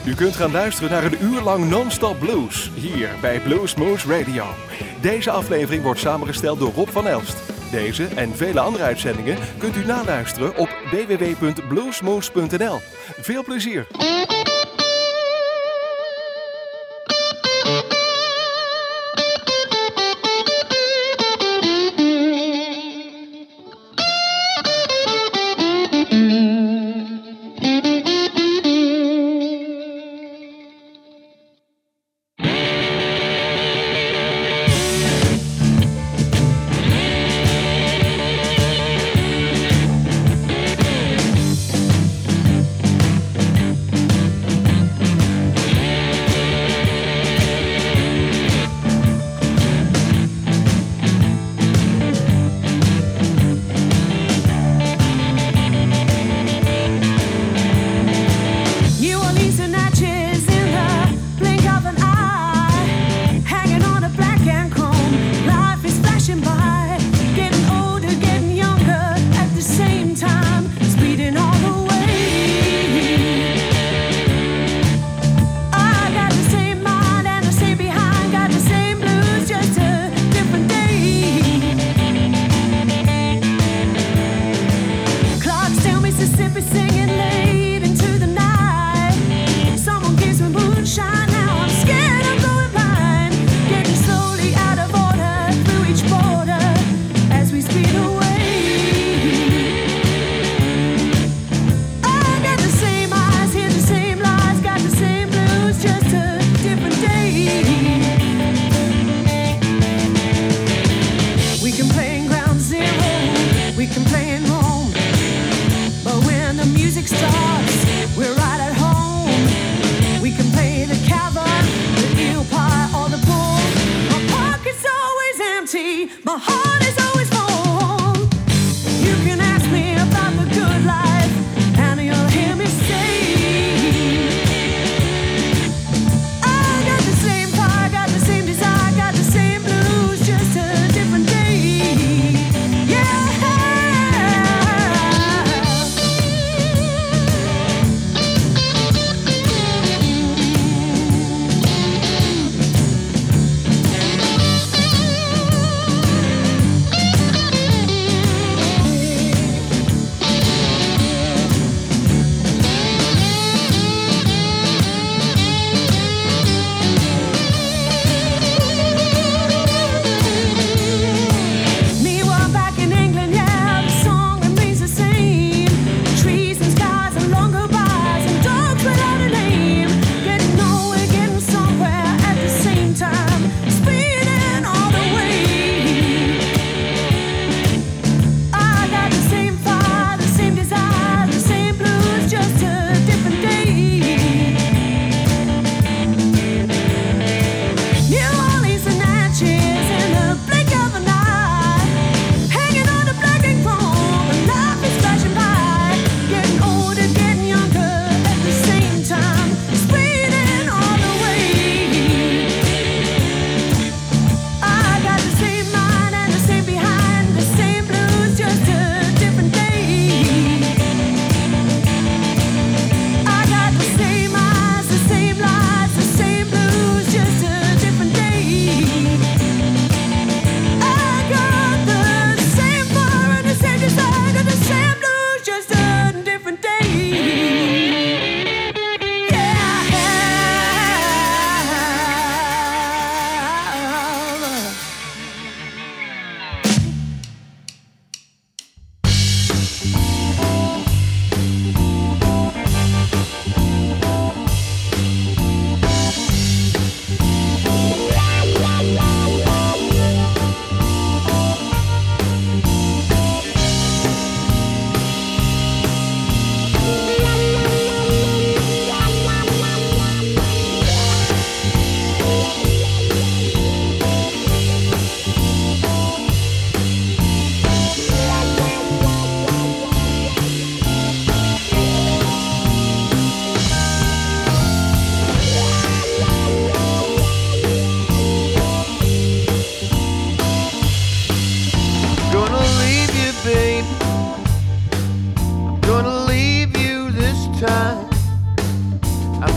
U kunt gaan luisteren naar een uur lang non-stop blues, hier bij Bluesmoose Radio. Deze aflevering wordt samengesteld door Rob van Elst. Deze en vele andere uitzendingen kunt u naluisteren op www.bluesmoose.nl. Veel plezier!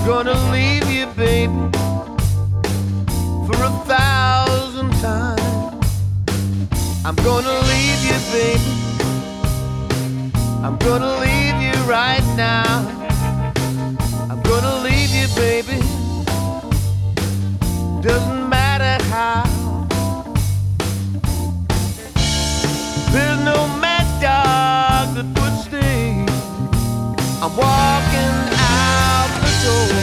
gonna leave you, baby, for 1,000 times. I'm gonna leave you, baby. I'm gonna leave you right now. I'm gonna leave you, baby. Doesn't matter how. There's no mad dog that would stay. I'm walking out the door.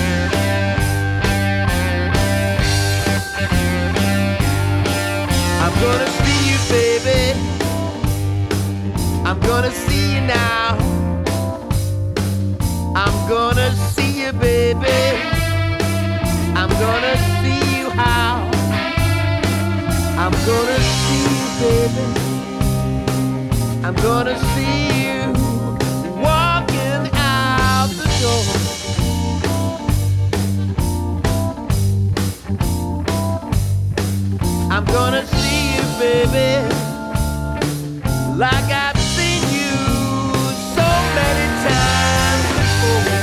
I'm gonna see you, baby. I'm gonna see you now. I'm gonna see you, baby. I'm gonna see you how. I'm gonna see you, baby. I'm gonna see you walking out the door. I'm gonna see you, baby, like I've seen you so many times before.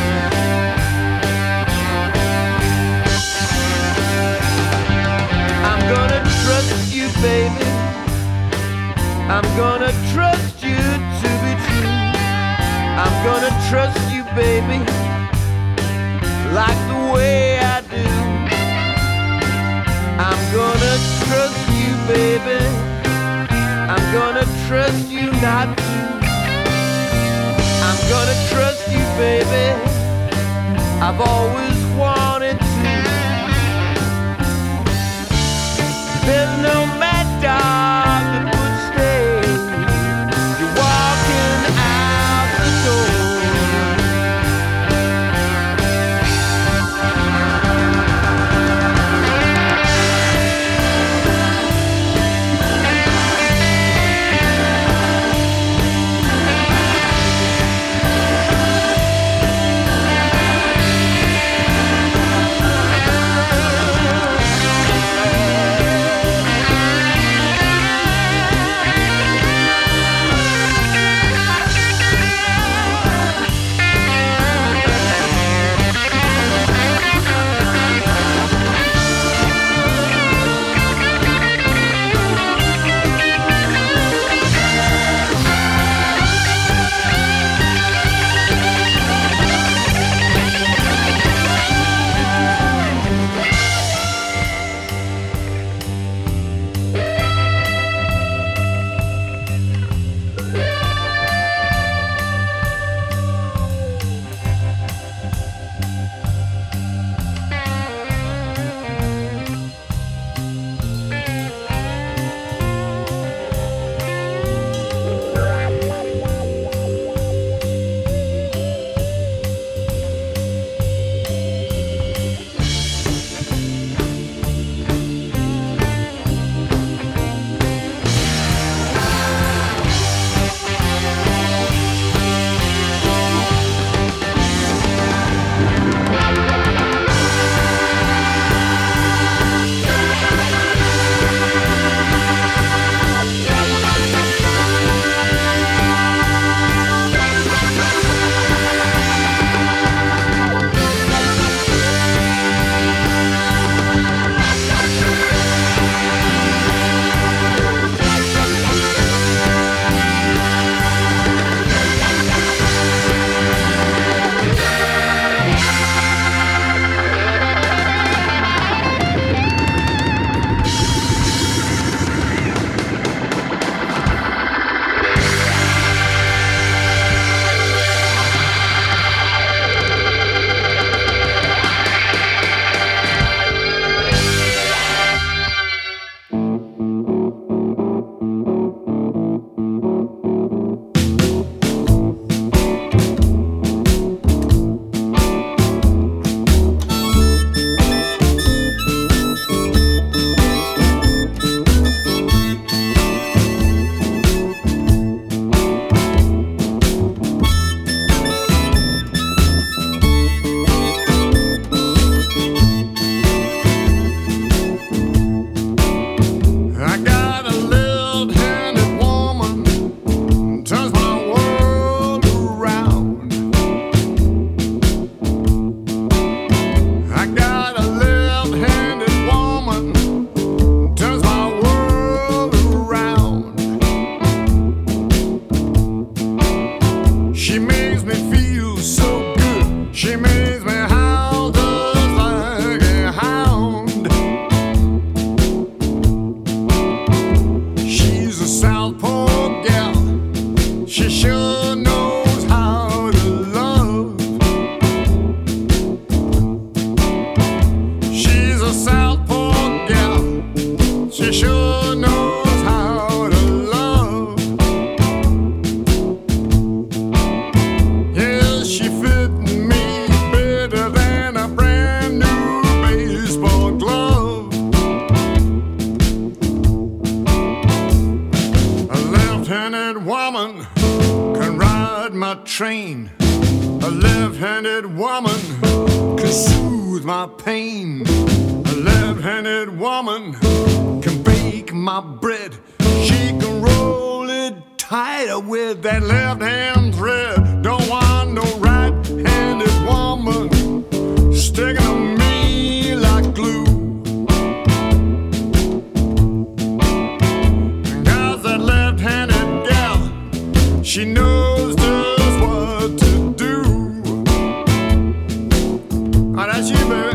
I'm gonna trust you, baby. I'm gonna trust you to be true. I'm gonna trust you, baby, like the way I do. I'm gonna trust you, baby. I'm gonna trust you not to. I'm gonna trust you, baby. I've always wanted to. There's no mad dog that would stay. You're walking out the door. She makes me feel so good. She makes me howl just like a hound. She's a southpaw gal. She sure knows how to love. She's a southpaw gal. She sure knows how to love. Yeah, she fit me better than a brand new baseball glove. A left-handed woman can ride my train. A left-handed woman can soothe my pain. A left-handed woman can bake my bread. She can roll it tighter with that left-hand thread. Don't want no right-handed woman sticking to me like glue. Cause that left-handed gal, she knows just what to do. Oh, that's you, baby.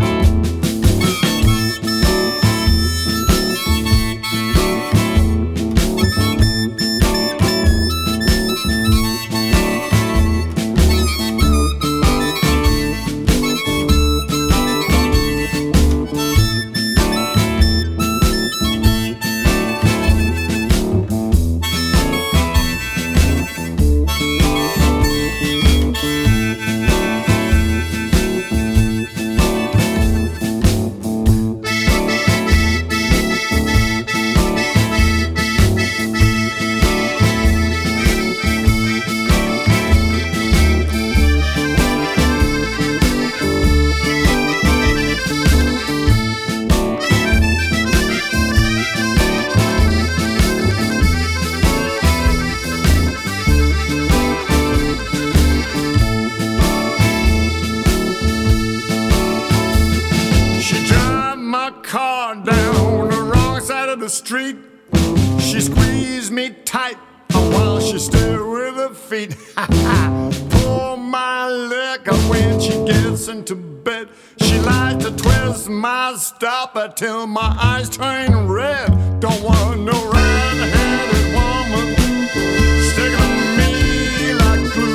The street, she squeezed me tight while she stood with her feet. Pull my leg up when she gets into bed. She likes to twist my stopper till my eyes turn red. Don't want no right-handed woman sticking to me like glue.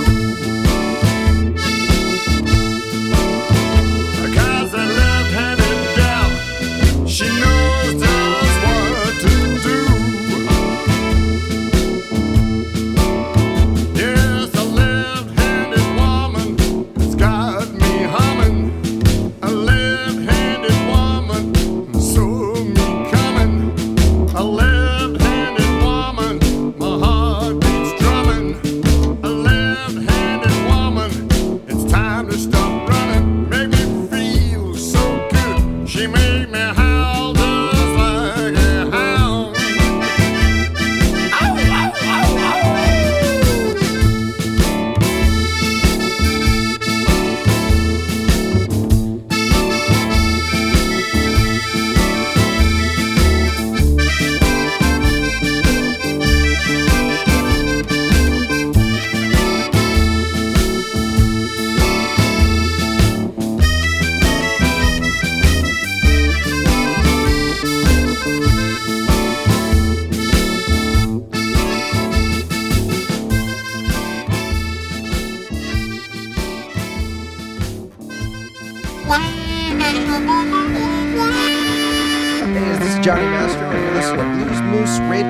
Cause that left-handed gal, she knows just what to do. Yes, a left-handed woman has got me humming. A left-handed woman saw me coming. A left-handed woman, my heart beats drumming. A left-handed woman, it's time to stop running. Make me feel so good. She made me howl just like a hound. Ow, ow, ow, ow. Hey, this is Johnny Master, and you're listening to Blues Moose Radio.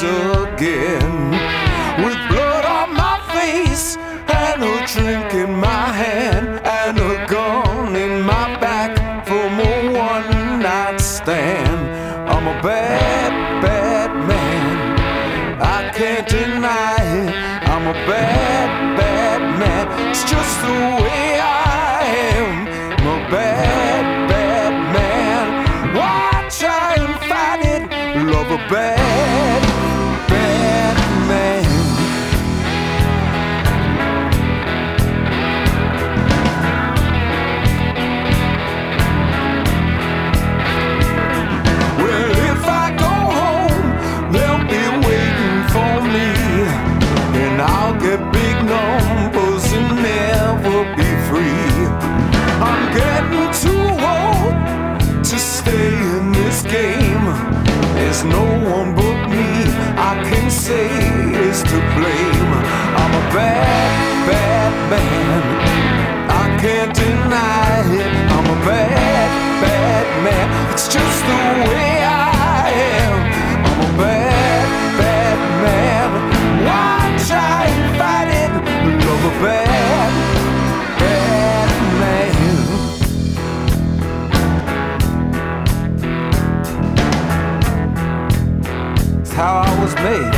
once again. With blood on my face and a drink in my hand and a gun in my back from a one-night stand. I'm a bad, bad man, I can't deny it. I'm a bad, bad man, it's just the way I am. I'm a bad, bad man, why try and fight it? Love a bad, bad man. Well, if I go home, they'll be waiting for me, and I'll get big numbers and never be free. I'm getting too old to stay in this game. There's no one but me I can say is to blame. I'm a bad, bad man, I can't deny it. I'm a bad, bad man, it's just the way I am. I'm a bad, bad man, why try and fight it? Love a bad, bad man. It's how I was made.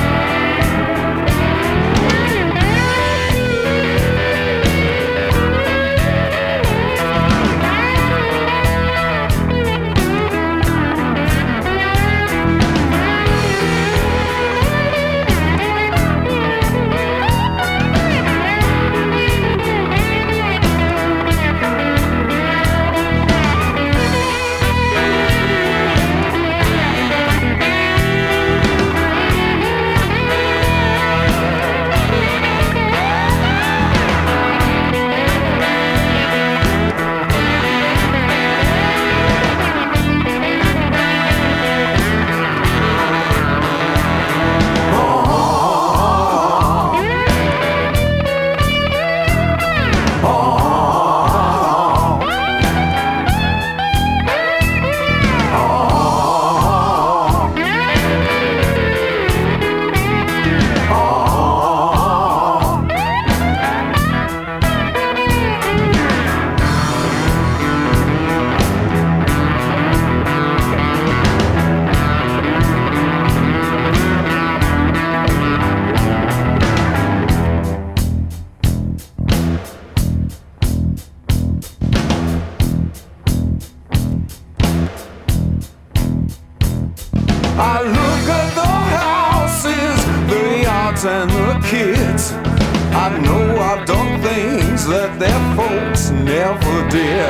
I look at the houses, the yards and the kids. I know I've done things that their folks never did.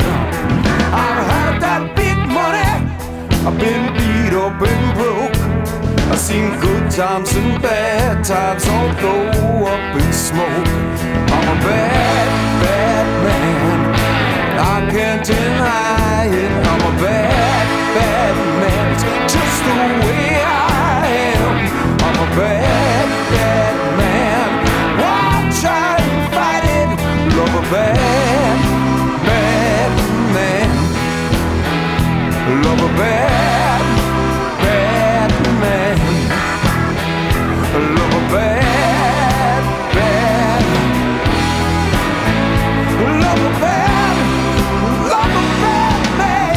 I've had that big money, I've been beat up and broke. I've seen good times and bad times all go up in smoke. I'm a bad, bad man, I can't deny it. I'm a bad, bad man, it's just the way I am. I'm a bad, bad man, why try and fight it? Love a bad, bad man. Love a bad, bad man. Love a bad, bad. Love a bad, love a bad man.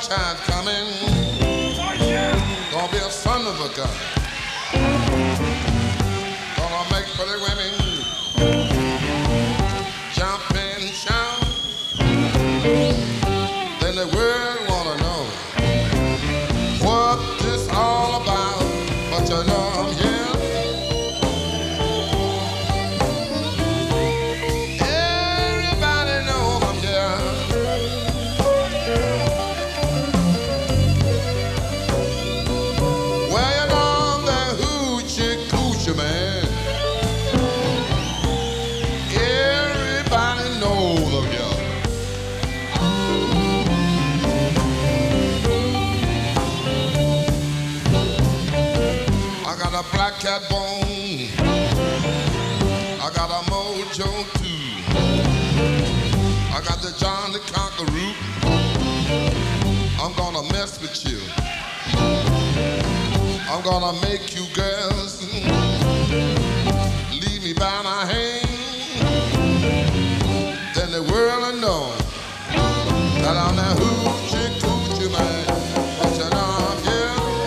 sunshine coming. Gonna be a son of a gun. Gonna make pretty women jump and shout. Then the world wanna know what this all about. But you know I'm here. Black cat bone, I got a mojo too. I got the John the Conqueror. I'm gonna mess with you. I'm gonna make you girls leave me by my hand. Then the world will know that I'm that hoochie coochie man. But you know I'm here.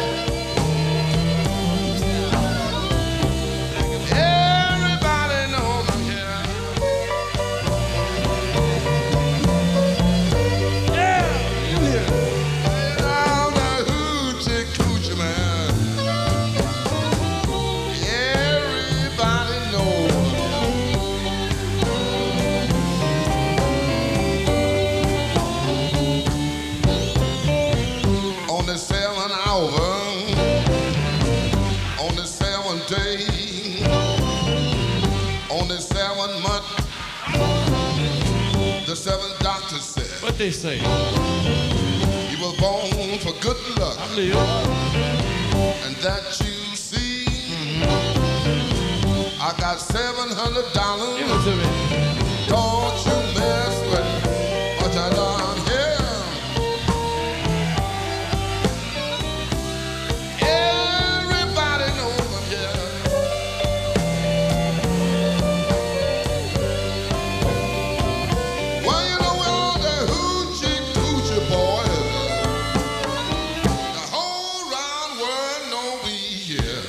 The 7 doctors said. What they say? You were born for good luck. I believe. And that you see, I got $700. Give it to me. Don't you mess with what I done here. Everybody knows I'm here. Well, you know all the hoochie coochie boys. The whole round world know we here.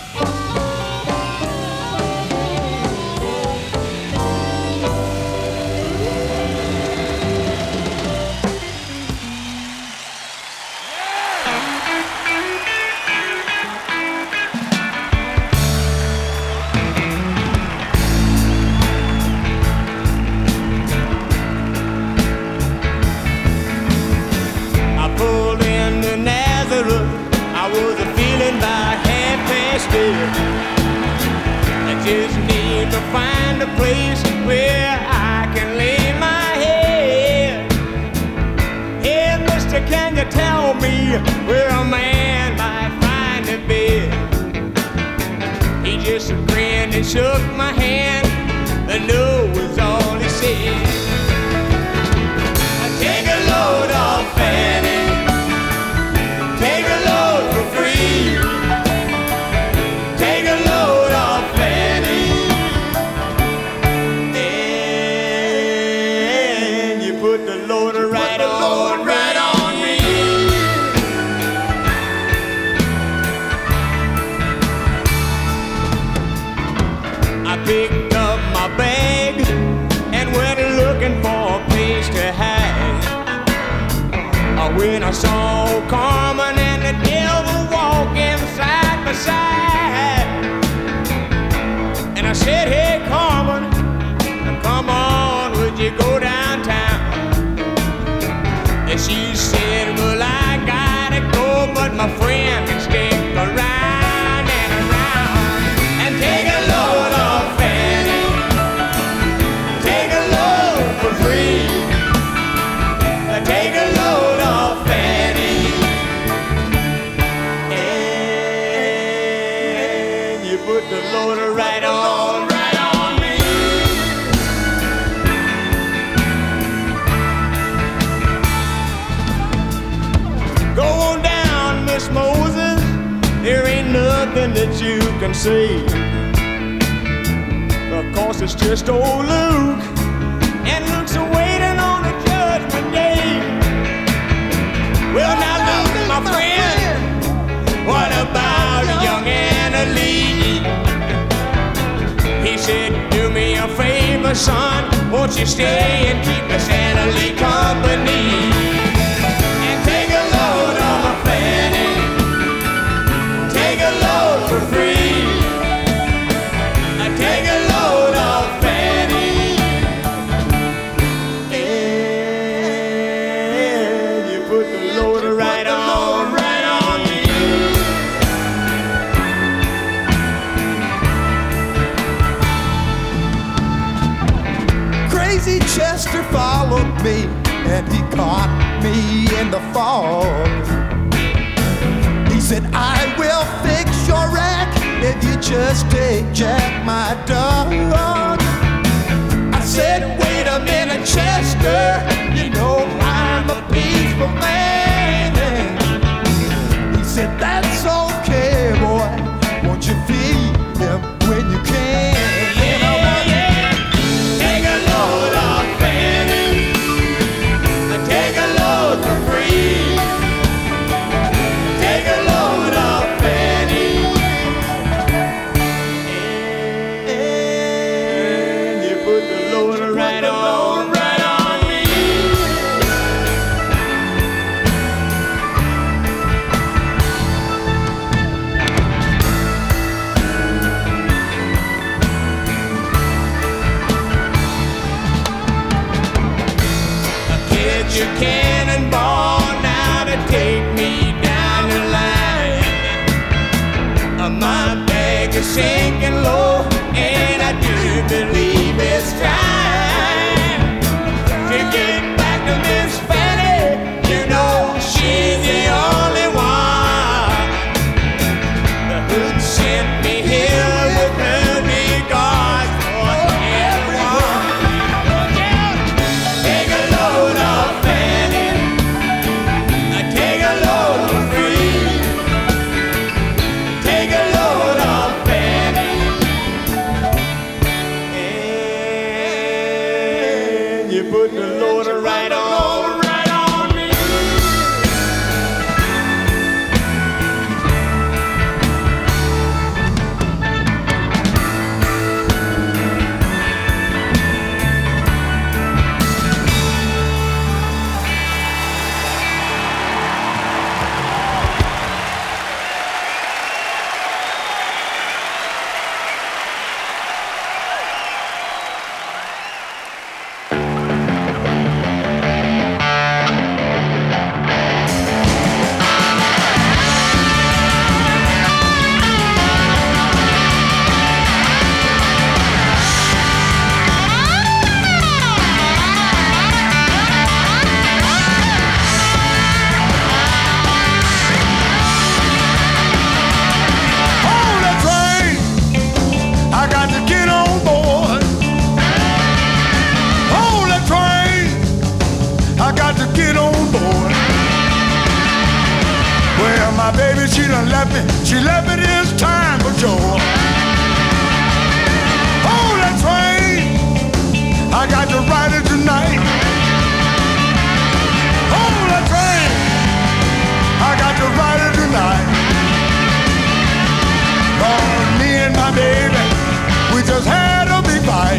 I pulled into Nazareth. I was feeling about 8:30. I just need to find a place where I can lay my head. Hey, mister, can you tell me where a man might find a bed? He just grinned and shook my hand. The no was all he said. Take a load off Fanny. Take a load for free. Take a load off Fanny. And you put the loader right on me. I picked up my bag and went looking for a place to hide. When I saw Carmen and the devil walking side by side, and I said, hey Carmen, come on, would you go downtown? And she said, well, I gotta go, but my friend can stick around and around. And take a load off Fanny. Take a load for free. Take a load off Fanny. And you put the loader right on me. Go on down, Miss Moses. There ain't nothing that you can say. Of course, it's just old Luke. And Luke's waiting on the judgment day. Well, son, won't you stay and keep me Santa Lee company? And take a load off Fanny, take a load for free. And take a load off Fanny, and you put the load right on me. Crazy Chester followed me, and he caught me in the fog. He said, I will fix your wreck if you just take Jack, my dog. I said, wait a minute, Chester, you know I'm a peaceful man. He said, that's okay, boy, won't you feed him when you can? Take a load off Fanny, take a load for free. Take a load off Fanny, and you put the load right on me. Get your cannonball now to take me down the line. My bag is sinking low, and I do believe it's time to get back to Miss Fanny. You know she's the only one. The hood sent me here with her regards for everyone. Take a load off Fanny, take a load for free. Take a load off Fanny, and you put the load right on me. Hold that train, I got to get on board. Hold that train, I got to get on board. Well, my baby, she done left me. She left me this time for sure. Hold that train, I got to ride it tonight. Hold that train, I got to ride it tonight. Cause me and my baby, we just had a big fight.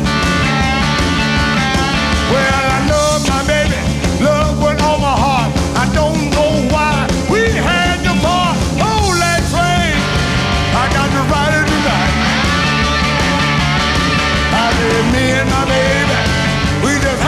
Well, I love my baby, love with all my heart. I don't know why we had to part. Hold that train, I got to ride it tonight. I said, me and my baby, we just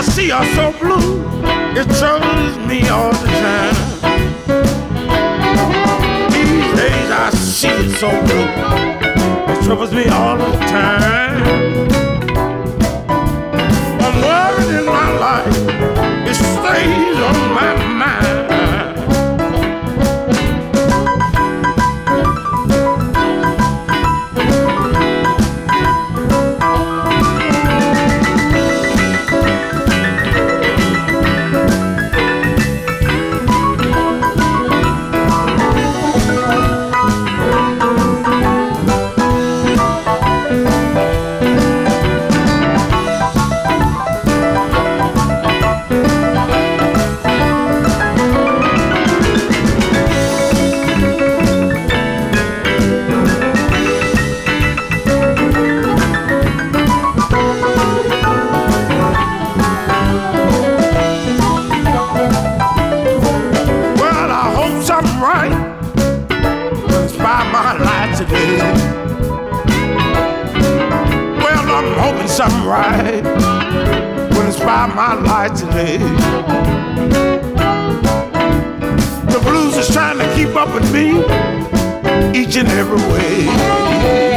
see her so blue, it troubles me all the time. These days I see it so blue, it troubles me all the time. I'm worried in my life, it stays on my mind. Something right when it's by my light today. The blues is trying to keep up with me each and every way.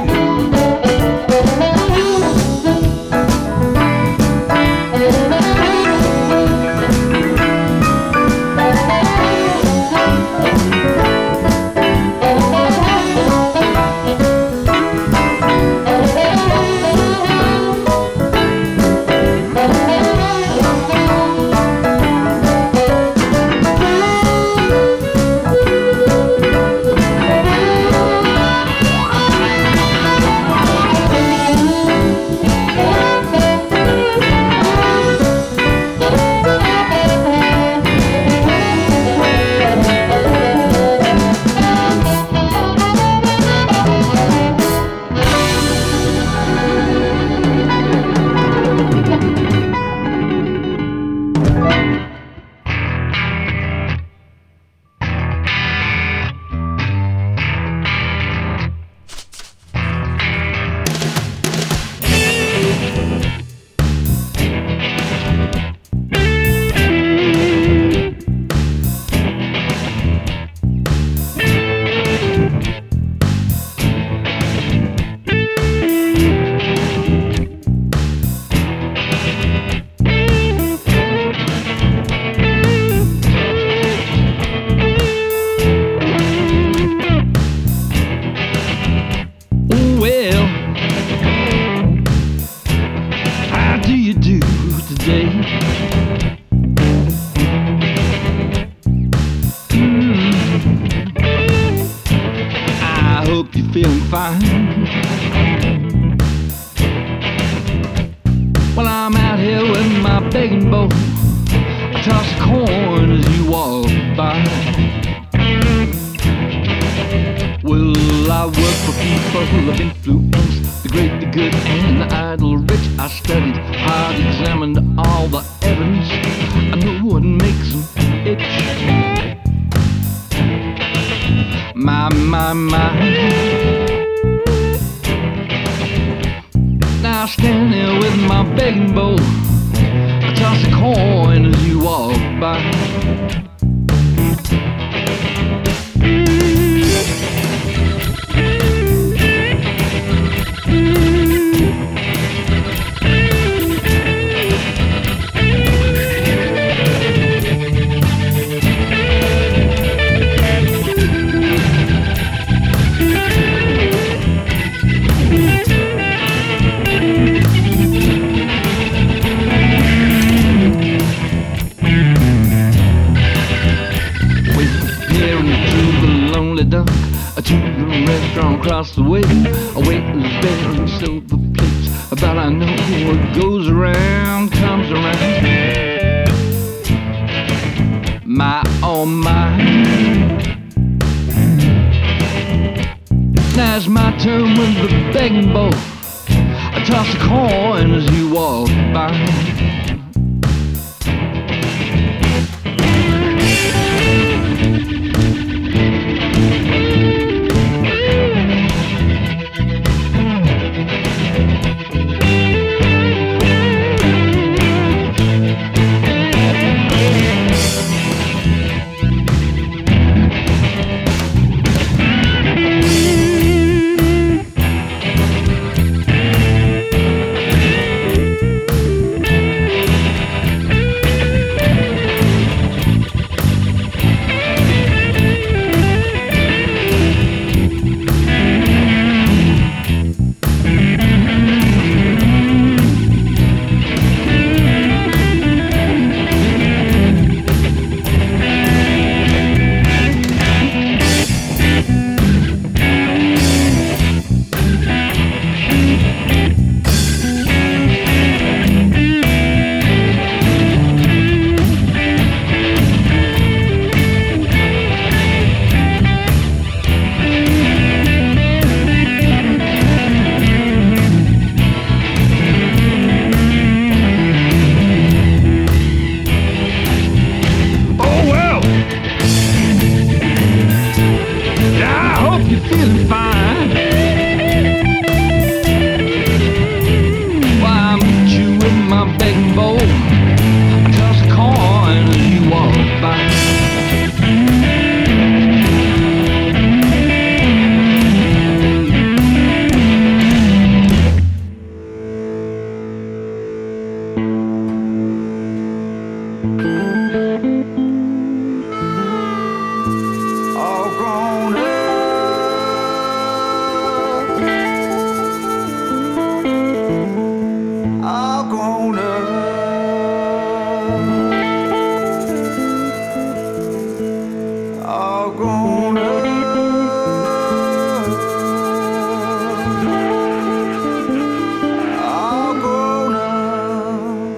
Now I stand there with my begging bowl, I toss a coin as you walk by. To the restaurant across the way, a waiter's bearing silver plates, but I know what goes around comes around. My, oh my. Now it's my turn with the begging bowl, I toss a coin as you walk by. grown up. All grown up. All grown up.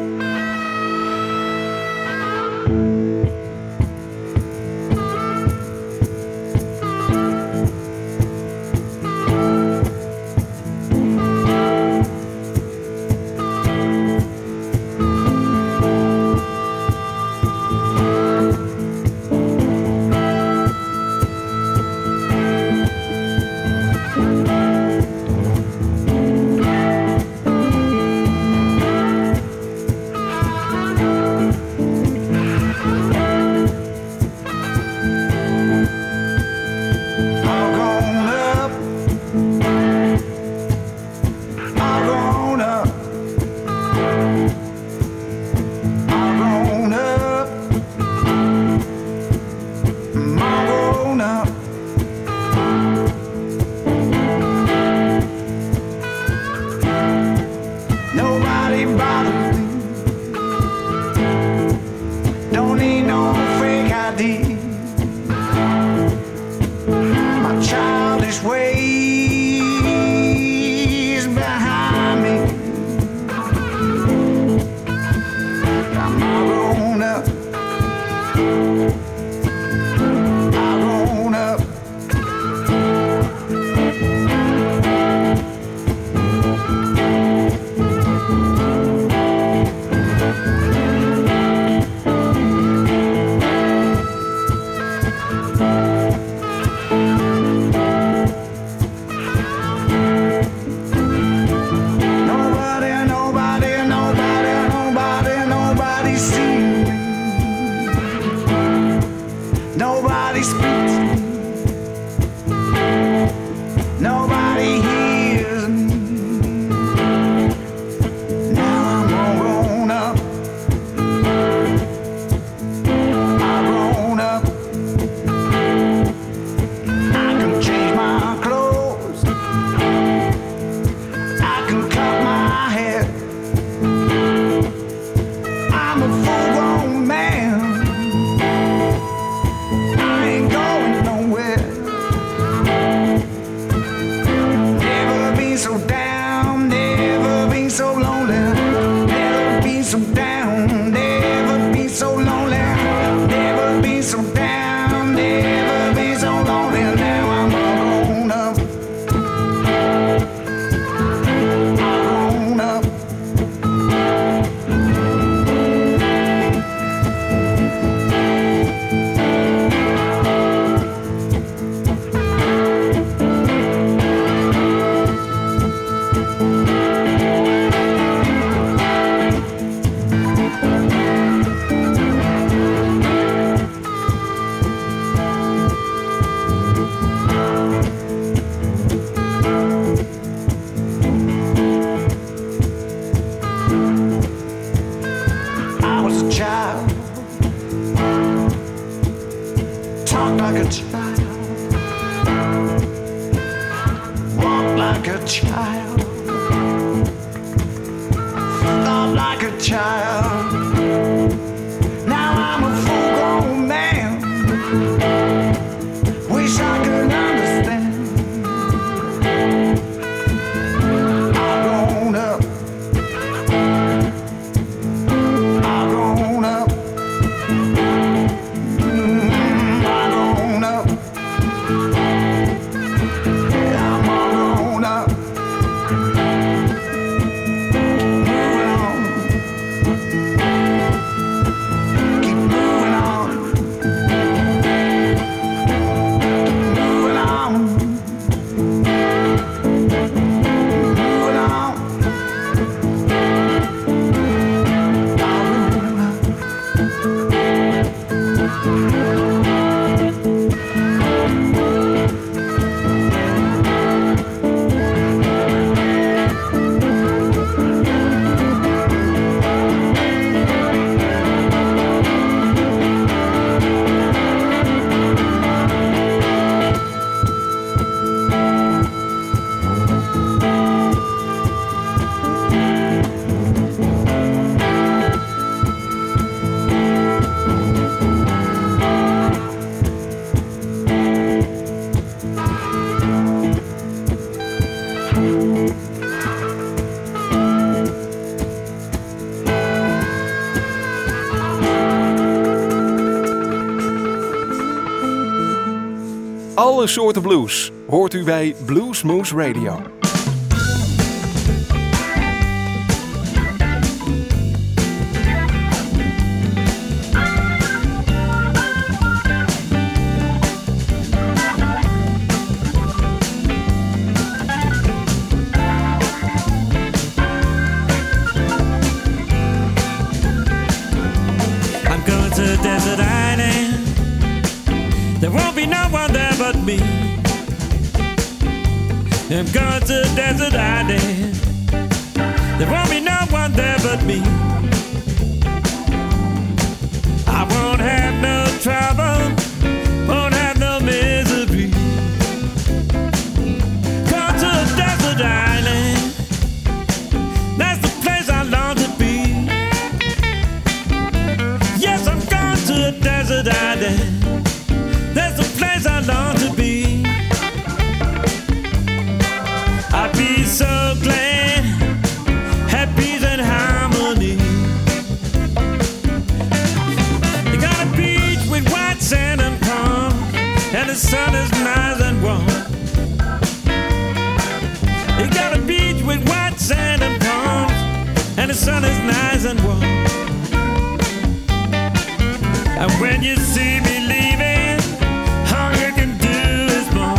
Nobody bothers me. Don't need no fake ID. My childish ways behind me. I'm all grown up. All grown up. Nobody sees me. Nobody speaks to me. Nobody hears me. Now I'm all grown up. I'm grown up. I can change my clothes. I can cut my hair. I'm a full-grown man. I ain't going nowhere. Never been so down, never been so lonely. Never been so down, never been so lonely. Never been so down, never been so lonely. Now I'm all grown up. All grown up. I was a child, talked like a child, walked like a child, thought like a child. Now I'm a full-grown man. Wish I could understand. I've grown up. I've grown up. I've grown up. I'm all grown up. Moving on. alle soorten blues hoort u bij Blues Moose Radio. Desert island, there won't be no one there but me. I'm going to desert island, there won't be no one there but me. I won't have no trouble, won't have no misery. Going to a desert island, that's the place I long to be. Yes, I'm going to a desert island, that's the place I long to be. I'd be so glad, have peace and harmony. You got a beach with white sand and palm, and the sun is nice and warm. You got a beach with white sand and palms, and the sun is nice and warm. And when you see me leaving, all you can do is moan.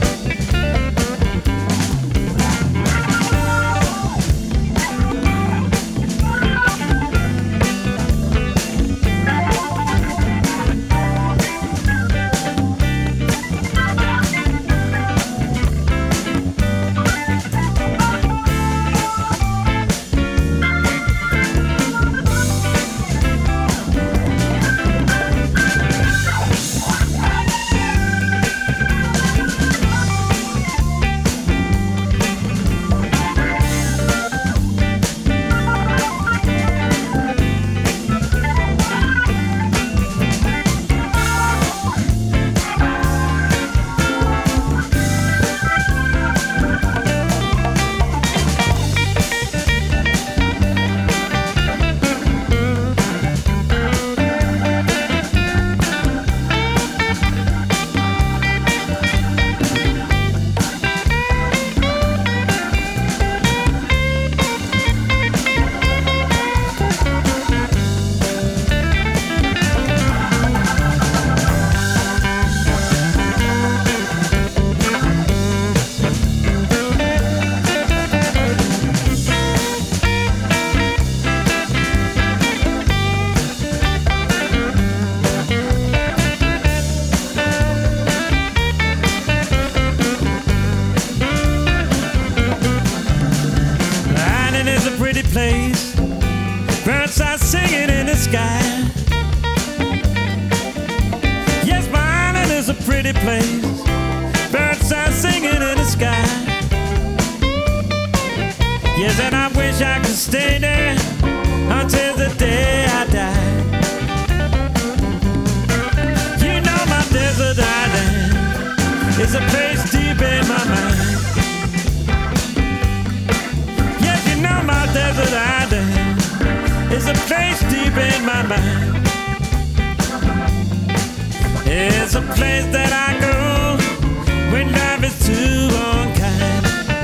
Place, birds are singing in the sky. Yes, my island is a pretty place, birds are singing in the sky. Yes, and I wish I could stay there until the day I die. You know my desert island is a place deep in my mind. My desert island is a place deep in my mind. It's a place that I go when life is too unkind.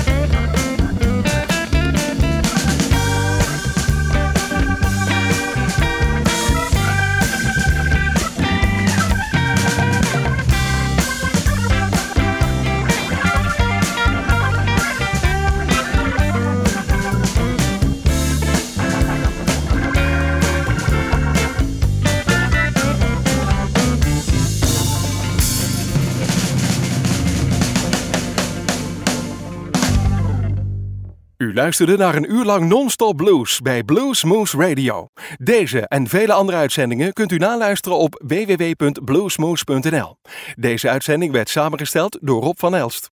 U luisterde naar een uur lang non-stop blues bij Blues Moose Radio. Deze en vele andere uitzendingen kunt u naluisteren op www.bluesmoose.nl. Deze uitzending werd samengesteld door Rob van Elst.